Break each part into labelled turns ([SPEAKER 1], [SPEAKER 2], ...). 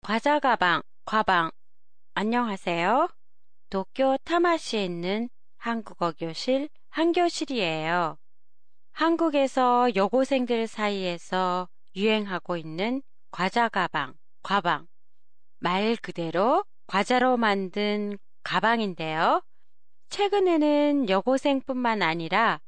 [SPEAKER 1] 과자 가방, 과방. 안녕하세요. 도쿄 타마시에 있는 한국어 교실 한교실이에요. 한국에서 여고생들 사이에서 유행하고 있는 과자 가방, 과방. 말 그대로 과자로 만든 가방인데요. 최근에는 여고생뿐만 아니라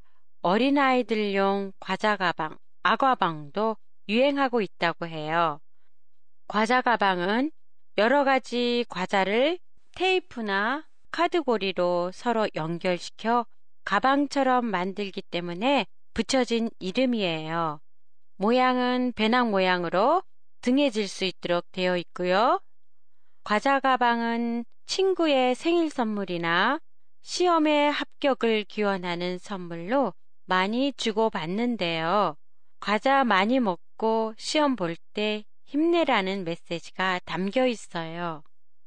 [SPEAKER 1] 어린아이들용 과자 가방, 아과방도 유행하고 있다고 해요. 과자 가방은 여러 가지 과자를 테이프나 카드고리로 서로 연결시켜 가방처럼 만들기 때문에 붙여진 이름이에요. 모양은 배낭 모양으로 등에 질 수 있도록 되어 있고요. 과자 가방은 친구의 생일 선물이나 시험에 합격을 기원하는 선물로 많이 주고받는데요. 과자 많이 먹고 시험 볼 때 힘내라는 메시지가 담겨 있어요.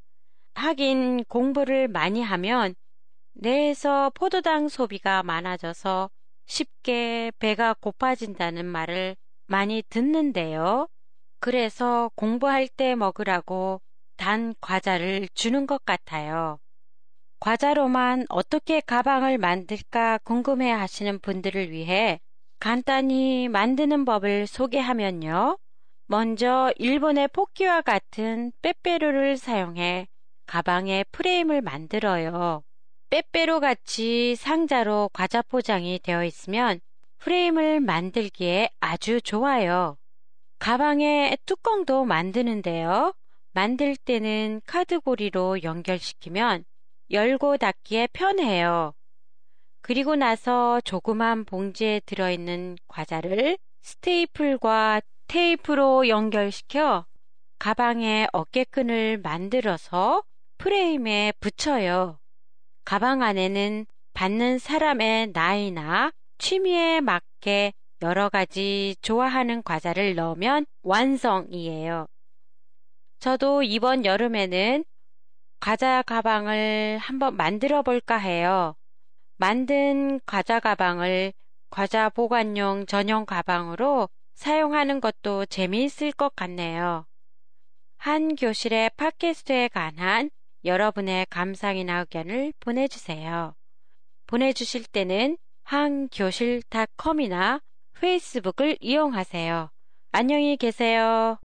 [SPEAKER 1] 하긴 공부를 많이 하면 뇌에서 포도당 소비가 많아져서 쉽게 배가 고파진다는 말을 많이 듣는데요. 그래서 공부할 때 먹으라고 단 과자를 주는 것 같아요. 과자로만 어떻게 가방을 만들까 궁금해 하시는 분들을 위해 간단히 만드는 법을 소개하면요. 먼저 일본의 포키와 같은 빼빼로를 사용해 가방에 프레임을 만들어요. 빼빼로 같이 상자로 과자 포장이 되어 있으면 프레임을 만들기에 아주 좋아요. 가방에 뚜껑도 만드는데요. 만들 때는 카드고리로 연결시키면 열고 닫기에 편해요. 그리고 나서 조그만 봉지에 들어있는 과자를 스테이플과 테이프로 연결시켜 가방에 어깨끈을 만들어서 프레임에 붙여요. 가방 안에는 받는 사람의 나이나 취미에 맞게 여러 가지 좋아하는 과자를 넣으면 완성이에요. 저도 이번 여름에는 과자 가방을 한번 만들어 볼까 해요. 만든 과자 가방을 과자 보관용 전용 가방으로 사용하는 것도 재미있을 것 같네요. 한 교실의 팟캐스트에 관한 여러분의 감상이나 의견을 보내주세요. 보내주실 때는 한교실닷컴이나 페이스북을 이용하세요. 안녕히 계세요.